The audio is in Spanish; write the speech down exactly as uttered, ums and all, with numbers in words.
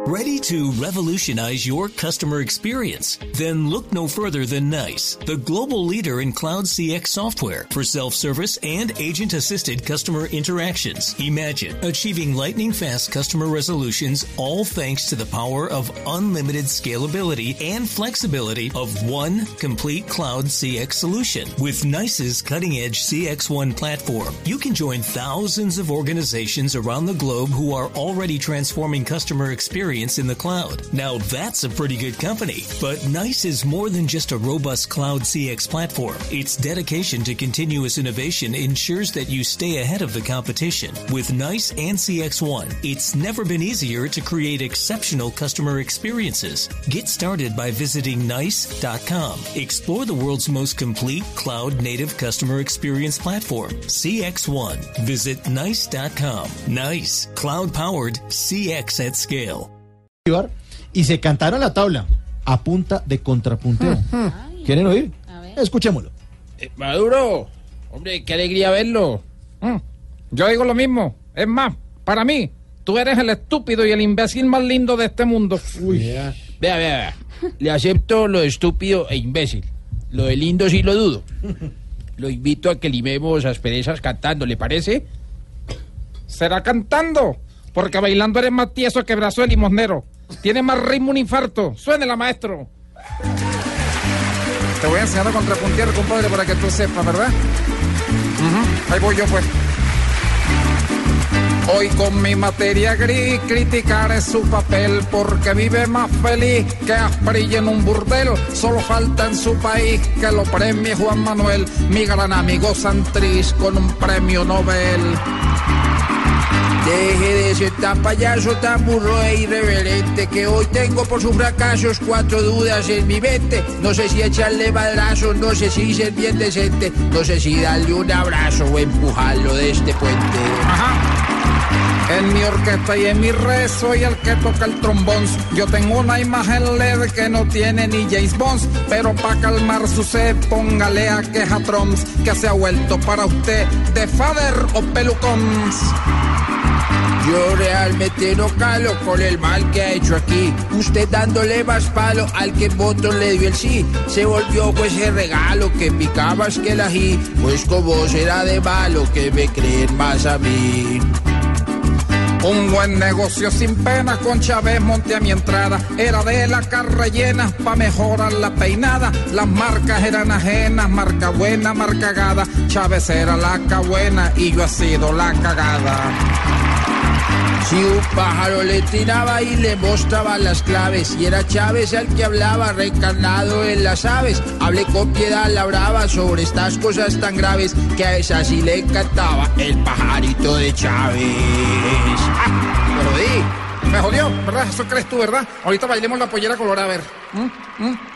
Ready to revolutionize your customer experience? Then look no further than NICE, the global leader in cloud C X software for self-service and agent-assisted customer interactions. Imagine achieving lightning-fast customer resolutions, all thanks to the power of unlimited scalability and flexibility of one complete cloud C X solution. With NICE's cutting-edge C X one platform, you can join thousands of organizations around the globe who are already transforming customer experience in the cloud. Now that's a pretty good company. But NICE is more than just a robust cloud C X platform. Its dedication to continuous innovation ensures that you stay ahead of the competition. With NICE and C X one, it's never been easier to create exceptional customer experiences. Get started by visiting nice dot com. Explore the world's most complete cloud-native customer experience platform, C X one. Visit nice dot com. NICE, cloud-powered C X at scale. Y se cantaron la tabla a punta de contrapunteo. Ay, ¿Quieren oír? a ver. Escuchémoslo. Eh, Maduro, hombre, qué alegría verlo. Mm, Yo digo lo mismo. Es más, para mí, tú eres el estúpido y el imbécil más lindo de este mundo. Uy. Vea, vea, vea. Le acepto lo de estúpido e imbécil. Lo de lindo sí lo dudo. Lo invito a que limemos asperezas cantando, ¿le parece? Será cantando, porque bailando eres más tieso que brazo de limosnero. Tiene más ritmo un infarto. Suénela, maestro. Te voy a enseñar a contrapuntear, compadre, para que tú sepas, ¿verdad? Uh-huh. Ahí voy yo, pues. Hoy con mi materia gris criticaré su papel porque vive más feliz que Asprilla en un burdel. Solo falta en su país que lo premie Juan Manuel, mi gran amigo Santrich, con un premio Nobel. Deje de ser tan payaso, tan burro e irreverente, que hoy tengo por sus fracasos cuatro dudas en mi mente. No sé si echarle balazos, no sé si ser bien decente, no sé si darle un abrazo o empujarlo de este puente. Ajá. En mi orquesta y en mi red soy el que toca el trombón. Yo tengo una imagen L E D que no tiene ni James Bond, pero para calmar su sed póngale a Quejatrons, que se ha vuelto para usted de fader o pelucón. Yo realmente no calo con el mal que ha hecho aquí. Usted dándole más palo al que en voto le dio el sí. Se volvió pues el regalo que picaba es que el ají. Pues como será de malo que me creen más a mí. Un buen negocio sin pena con Chávez monté a mi entrada. Era de la carra llena pa' mejorar la peinada. Las marcas eran ajenas, marca buena, marca cagada. Chávez era la buena y yo he sido la cagada. Si un pájaro le tiraba y le mostraba las claves, y era Chávez el que hablaba reencarnado en las aves. Hablé con Piedad la Brava sobre estas cosas tan graves, que a esa sí le encantaba el pajarito de Chávez. ¡Ah! Me jodí, me jodió, ¿verdad? Eso crees tú, ¿verdad? Ahorita bailemos la pollera colorada, a ver. ¿Mm? ¿Mm?